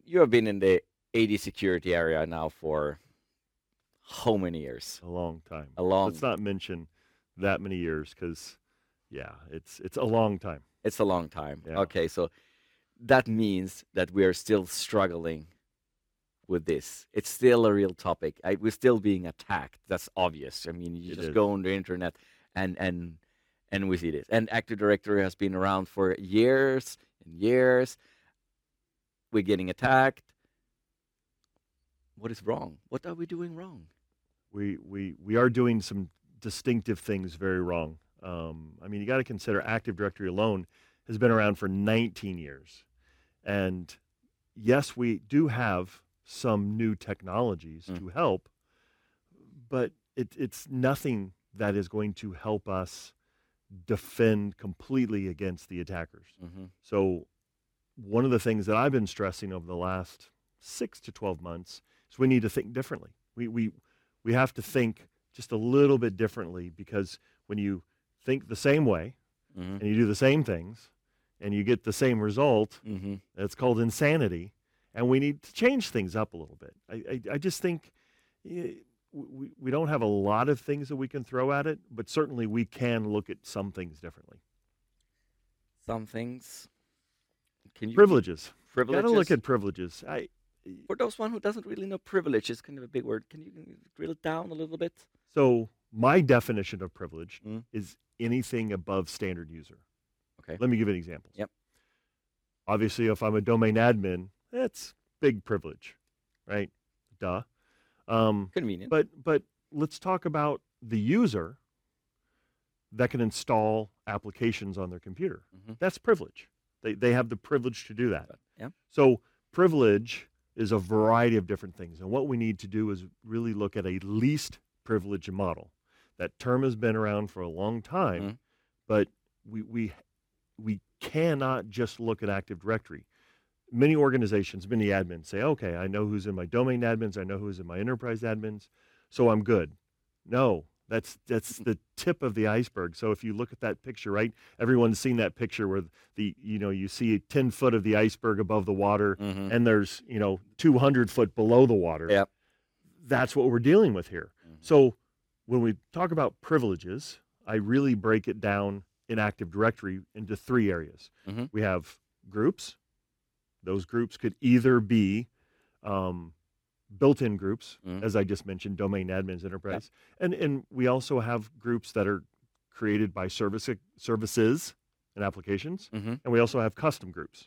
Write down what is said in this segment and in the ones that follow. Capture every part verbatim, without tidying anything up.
you have been in the A D security area now for how many years? A long time. A Let's long. not mention that many years because, yeah, it's it's a long time. It's a long time. Yeah, Okay, so that means that we are still struggling with this. It's still a real topic. I, we're still being attacked. That's obvious. I mean, you it just is. go on the internet and and and we see this. And Active Directory has been around for years and years. We're getting attacked. What is wrong? What are we doing wrong? We we we are doing some distinctive things very wrong. Um, I mean, you got to consider Active Directory alone has been around for nineteen years, and yes, we do have some new technologies Mm. to help, but it, it's nothing that is going to help us defend completely against the attackers. Mm-hmm. So, one of the things that I've been stressing over the last six to twelve months is we need to think differently. We, we, we have to think just a little bit differently because when you think the same way Mm-hmm. and you do the same things and you get the same result, Mm-hmm. it's called insanity. And we need to change things up a little bit. I, I, I just think eh, we, we don't have a lot of things that we can throw at it, but certainly we can look at some things differently. Some things. Can you give Privileges. Got to privileges? look at privileges. I, For those one who doesn't really know, privilege is kind of a big word. Can you drill it down a little bit? so my definition of privilege Mm. is anything above standard user. Okay. Let me give you an example. Yep. Obviously, if I'm a domain admin, that's big privilege, right? Duh. Um, Convenient. but but let's talk about the user that can install applications on their computer. Mm-hmm. That's privilege. They they have the privilege to do that. Yeah. So privilege is a variety of different things, and what we need to do is really look at a least privilege model. That term has been around for a long time, Mhm. but we we we cannot just look at Active Directory. Many organizations, many admins say, okay, I know who's in my domain admins, I know who's in my enterprise admins, so I'm good. No, that's that's the tip of the iceberg. So if you look at that picture, right, everyone's seen that picture where the, you know, you see ten foot of the iceberg above the water Mm-hmm. and there's, you know, two hundred foot below the water. Yep. That's what we're dealing with here. Mhm. So when we talk about privileges, I really break it down in Active Directory into three areas. Mhm. We have groups. Those groups could either be um, built-in groups, Mhm. as I just mentioned, domain admins, enterprise, and and we also have groups that are created by service services and applications, Mm-hmm. and we also have custom groups.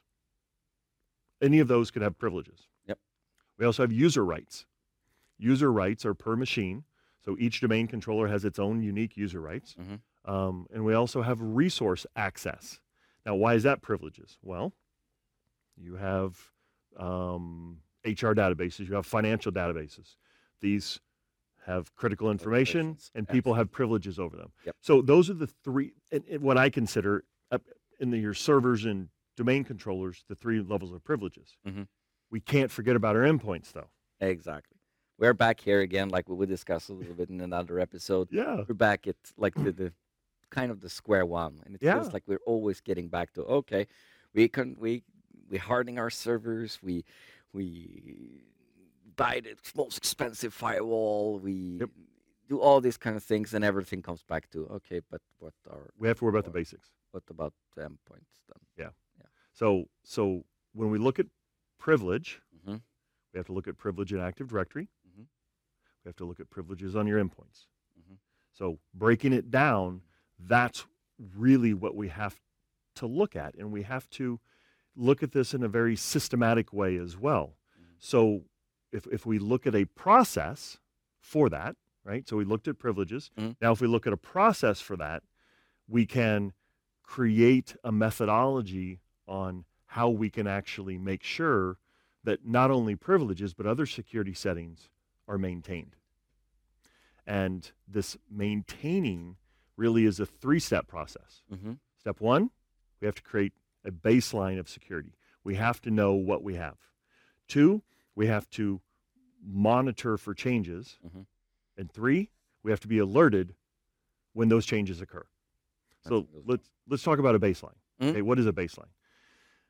Any of those could have privileges. Yep. We also have user rights. User rights are per machine, so each domain controller has its own unique user rights. Mm-hmm. Um, and we also have resource access. Now, why is that privileges? Well, you have um, H R databases, you have financial databases. These have critical information, Organizations. and Yes. people have privileges over them. Yep. So those are the three, and, and what I consider uh, in the, your servers and domain controllers, the three levels of privileges. Mm-hmm. We can't forget about our endpoints, though. Exactly. We're back here again, like we would discuss a little bit in another episode. Yeah. We're back at like the, the kind of the square one, and it Yeah. feels like we're always getting back to okay, we can we we hardening our servers, we we buy the most expensive firewall, we Yep. do all these kind of things, and everything comes back to okay, but what are We have to worry about the Or- basics. what about the endpoints then? So, so when we look at privilege, Mm-hmm. we have to look at privilege in Active Directory. Mhm. We have to look at privileges on your endpoints. Mhm. So breaking it down, that's really what we have to look at. And we have to look at this in a very systematic way as well. Mhm. So if, if we look at a process for that, right? So we looked at privileges. Mhm. Now, if we look at a process for that, we can create a methodology on how we can actually make sure that not only privileges, but other security settings are maintained. And this maintaining really is a three-step process. Mm-hmm. Step one, we have to create a baseline of security. We have to know what we have. Two, we have to monitor for changes. Mhm. And three, we have to be alerted when those changes occur. That's So what goes let's let's talk about a baseline. Mhm. Okay, what is a baseline?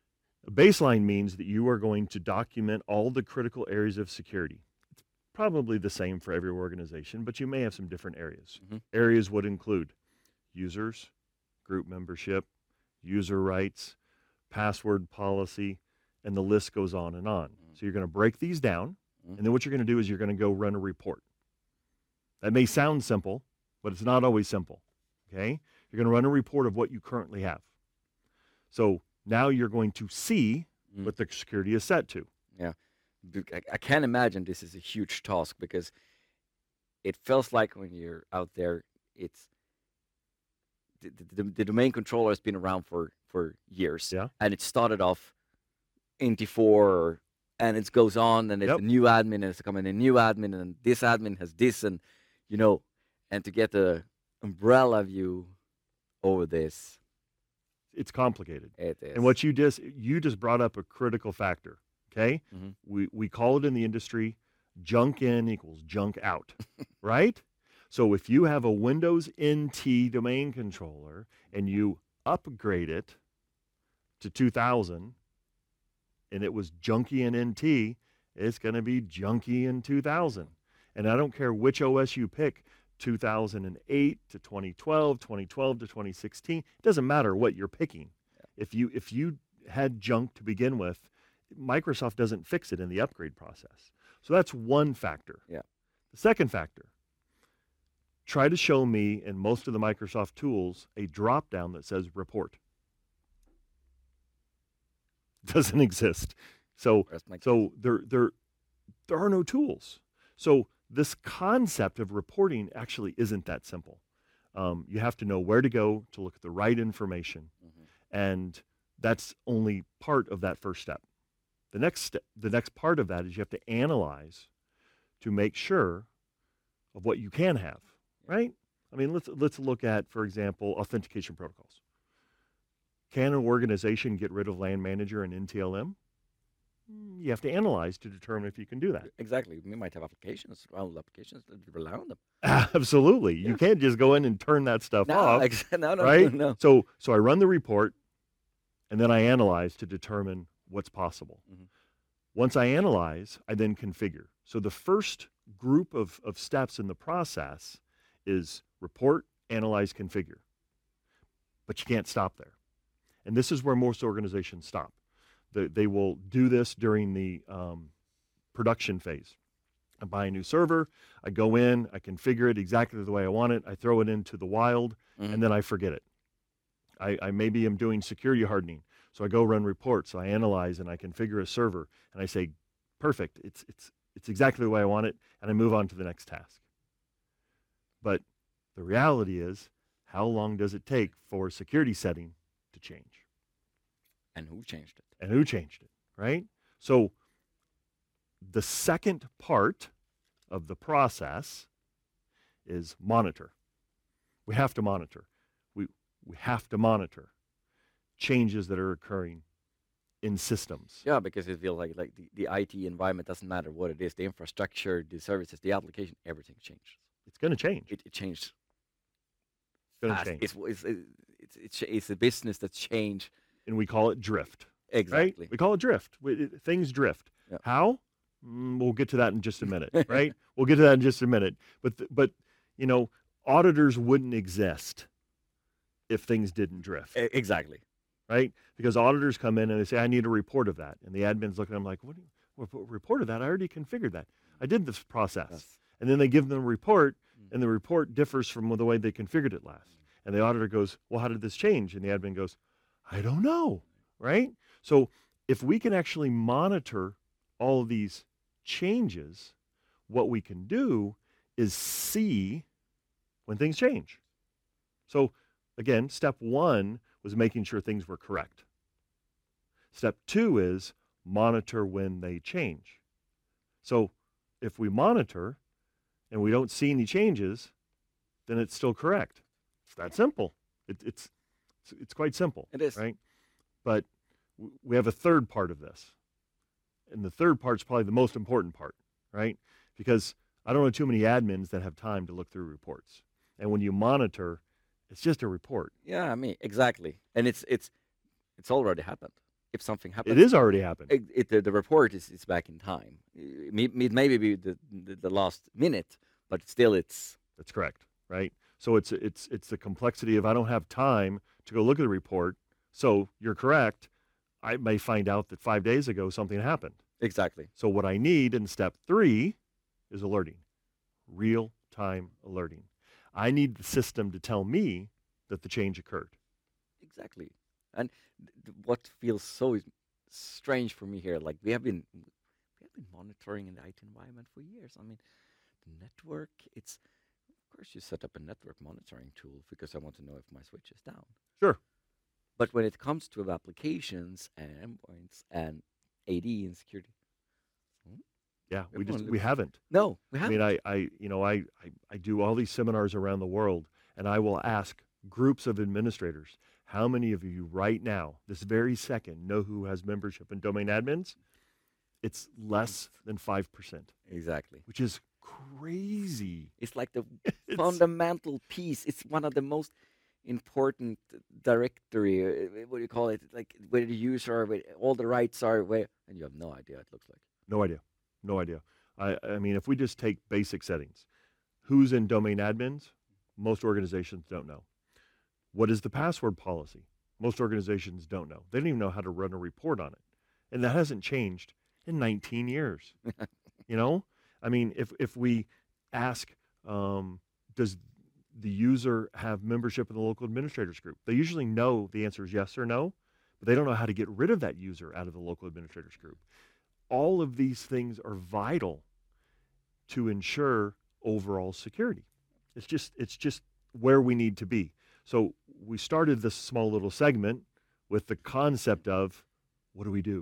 A baseline means that you are going to document all the critical areas of security. It's probably the same for every organization, but you may have some different areas. Mhm. Areas would include users, group membership, user rights, password policy, and the list goes on and on. Mm. So you're going to break these down, Mm. and then what you're going to do is you're going to go run a report. That may sound simple, but it's not always simple, okay? You're going to run a report of what you currently have. So now you're going to see Mm. what the security is set to. Yeah. Bec- I, I can't imagine this is a huge task because it feels like when you're out there, it's the, the, the domain controller has been around for, for years. Yeah. And it started off in T four and it goes on and it's Yep. a new admin and it's coming a new admin and this admin has this and, you know, and to get the umbrella view over this, It's complicated. it is. And what you just you just brought up a critical factor, okay? Mhm. We we call it in the industry junk in equals junk out, right? So if you have a Windows N T domain controller and you upgrade it to two thousand and it was junky in N T, it's going to be junky in two thousand. And I don't care which O S you pick, two thousand eight to twenty twelve, twenty twelve to twenty sixteen, it doesn't matter what you're picking. If you if you had junk to begin with, Microsoft doesn't fix it in the upgrade process. So that's one factor. Yeah. The second factor, try to show me in most of the Microsoft tools a drop down that says report. Doesn't exist. So Rest my case. so there there there are no tools. So this concept of reporting actually isn't that simple. Um, you have to know where to go to look at the right information, Mhm. and that's only part of that first step. The next step, the next part of that is you have to analyze to make sure of what you can have, right? I mean, let's let's look at, for example, authentication protocols. Can an organization get rid of LAN manager and N T L M? Mm, You have to analyze to determine if you can do that. Exactly. We might have applications, old applications that rely on them. Absolutely. You Yeah. can't just go in and turn that stuff No, off, ex- no, no, right? no. So so I run the report and then I analyze to determine what's possible. Mhm. Once I analyze, I then configure. So the first group of, of steps in the process is report, analyze, configure. But you can't stop there. And this is where most organizations stop. They, they will do this during the um, production phase. I buy a new server, I go in, I configure it exactly the way I want it, I throw it into the wild, Mhm. and then I forget it. I, I maybe am doing security hardening. So I go run reports, I analyze and I configure a server and I say, perfect, it's it's it's exactly the way I want it, and I move on to the next task. But the reality is, how long does it take for a security setting to change? And who changed it? And who changed it, right? So the second part of the process is monitor. We have to monitor. We we have to monitor changes that are occurring in systems. Yeah, because it feels like like the, the I T environment doesn't matter what it is, the infrastructure, the services, the application, everything changed. It's going to change. It, it changed It's going to fast. change. It's, it's, it's, it's, it's a business that's changed. And we call it drift, Exactly. right? We call it drift. We, it, things drift. Yep. How? Mm, we'll get to that in just a minute, right? We'll get to that in just a minute. But th- but you know, auditors wouldn't exist if things didn't drift. E- Exactly. Right? Because auditors come in and they say, I need a report of that. And the admin's looking at them like, what do you, what, what report of that? I already configured that. I did this process. Yes. And then they give them a report, Mm. and the report differs from the way they configured it last. And the auditor goes, well, how did this change? And the admin goes, I don't know. Right? So if we can actually monitor all of these changes, what we can do is see when things change. So again, step one was making sure things were correct. Step two is monitor when they change. So if we monitor and we don't see any changes, then it's still correct. It's that simple. It, it's, it's it's quite simple. It is. Right? But w- we have a third part of this. And the third part's probably the most important part, right? Because I don't know too many admins that have time to look through reports. And when you monitor, it's just a report. Yeah, I mean, exactly. And it's it's it's already happened. if something It happens, is already happened. it, it, the, the report is, is back in time. It, may- it maybe be the, the, the last minute, but still it's That's correct, right? So it's it's it's the complexity of I don't have time to go look at the report. So you're correct. I may find out that five days ago something happened. exactly. So what I need in step three is alerting, real-time alerting. I need the system to tell me that the change occurred. Exactly. And th- th- what feels so is- strange for me here, like we have been we have been monitoring in the I T environment for years. I mean, the network, it's of course you set up a network monitoring tool because I want to know if my switch is down. Sure. But when it comes to applications and endpoints and A D and security, hmm, Yeah, we everyone just we looks haven't. no, we I haven't. mean, I, I you know, I, I, I do all these seminars around the world, and I will ask groups of administrators, how many of you right now, this very second, know who has membership in domain admins? It's less than five percent, Exactly. which is crazy. It's like the It's fundamental piece. It's one of the most important directory. uh, What do you call it? Like where the user, where all the rights are, where, and you have no idea. It looks like. no idea. No idea. I, I mean, if we just take basic settings, who's in domain admins? Most organizations don't know. What is the password policy? Most organizations don't know. They don't even know how to run a report on it. And that hasn't changed in nineteen years. You know, I mean, if, if we ask, um, does the user have membership in the local administrators group? They usually know the answer is yes or no, but they don't know how to get rid of that user out of the local administrators group. All of these things are vital to ensure overall security. It's just, it's just where we need to be. So we started this small little segment with the concept of what do we do?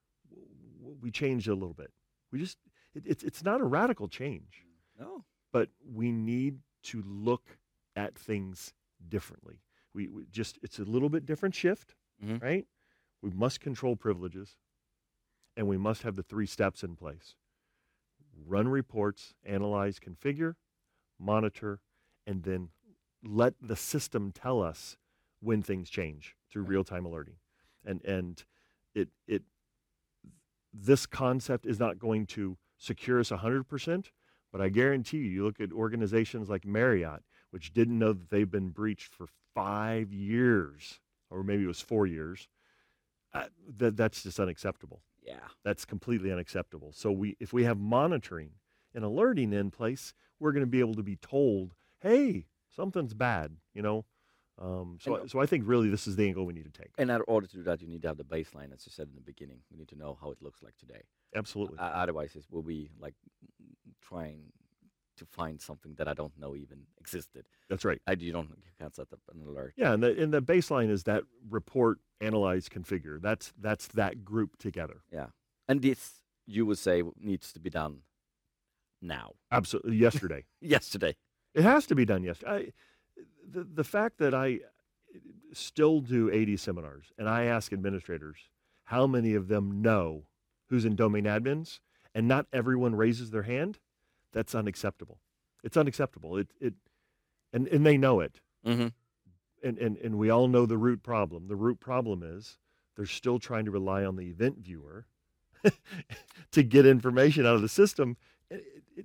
We changed it a little bit. We just, it, it's, it's not a radical change, No. but we need to look at things differently. We, we just, it's a little bit different shift, Mhm. right? We must control privileges, and we must have the three steps in place. Run reports, analyze, configure, monitor, and then let the system tell us when things change through Right. real-time alerting. And and it it this concept is not going to secure us one hundred percent, but I guarantee you, you look at organizations like Marriott, which didn't know that they've been breached for five years, or maybe it was four years. Uh, that that's just unacceptable. Yeah. That's completely unacceptable. So we, if we have monitoring and alerting in place, we're going to be able to be told, hey, something's bad, you know? Um, so, And- so I think really this is the angle we need to take. And in order to do that, you need to have the baseline, as you said in the beginning. We need to know how it looks like today. Absolutely. Uh, otherwise, it will be like trying to find something that I don't know even existed. That's right. I you don't you can't set up an alert. Yeah, and the, and the baseline is that report, analyze, configure. That's, that's that group together. Yeah. And this, you would say, needs to be done now, Absolutely. Yesterday. yesterday. It has to be done yesterday. I, the, the fact that I still do eighty seminars and I ask administrators how many of them know who's in domain admins and not everyone raises their hand, that's unacceptable. It's unacceptable. It, it, and, and they know it. Mm-hmm. And, and, and we all know the root problem. The root problem is they're still trying to rely on the event viewer to get information out of the system. It, it,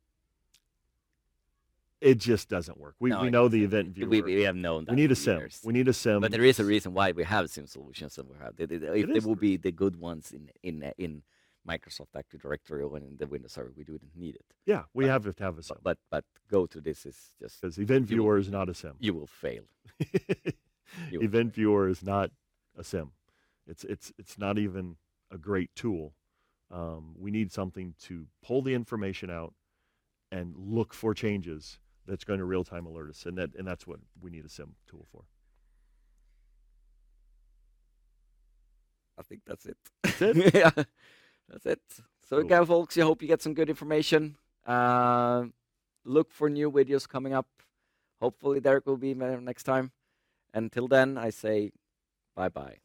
it just doesn't work. We, No, we it know the doesn't. event viewer. We, we have known that. We need a for sim. years. We need a sim. But there is a reason why we have SIM solutions that we have. They, they, if It they is will the be the good ones in in uh, in Microsoft Active Directory or in the Windows Server, we wouldn't need it. Yeah, we but- have to have a sim. But but, but go to this is just Because event you will- viewer is not a sim. you will fail. You will Event viewer is not a sim. It's it's it's not even a great tool. Um, we need something to pull the information out and look for changes that's going to real time alert us, and that and that's what we need a sim tool for. I think that's it. That's it? Yeah, that's it. So Cool. again, folks, I hope you get some good information. Uh, look for new videos coming up. Hopefully, Derek will be there next time. Until then, I say bye bye.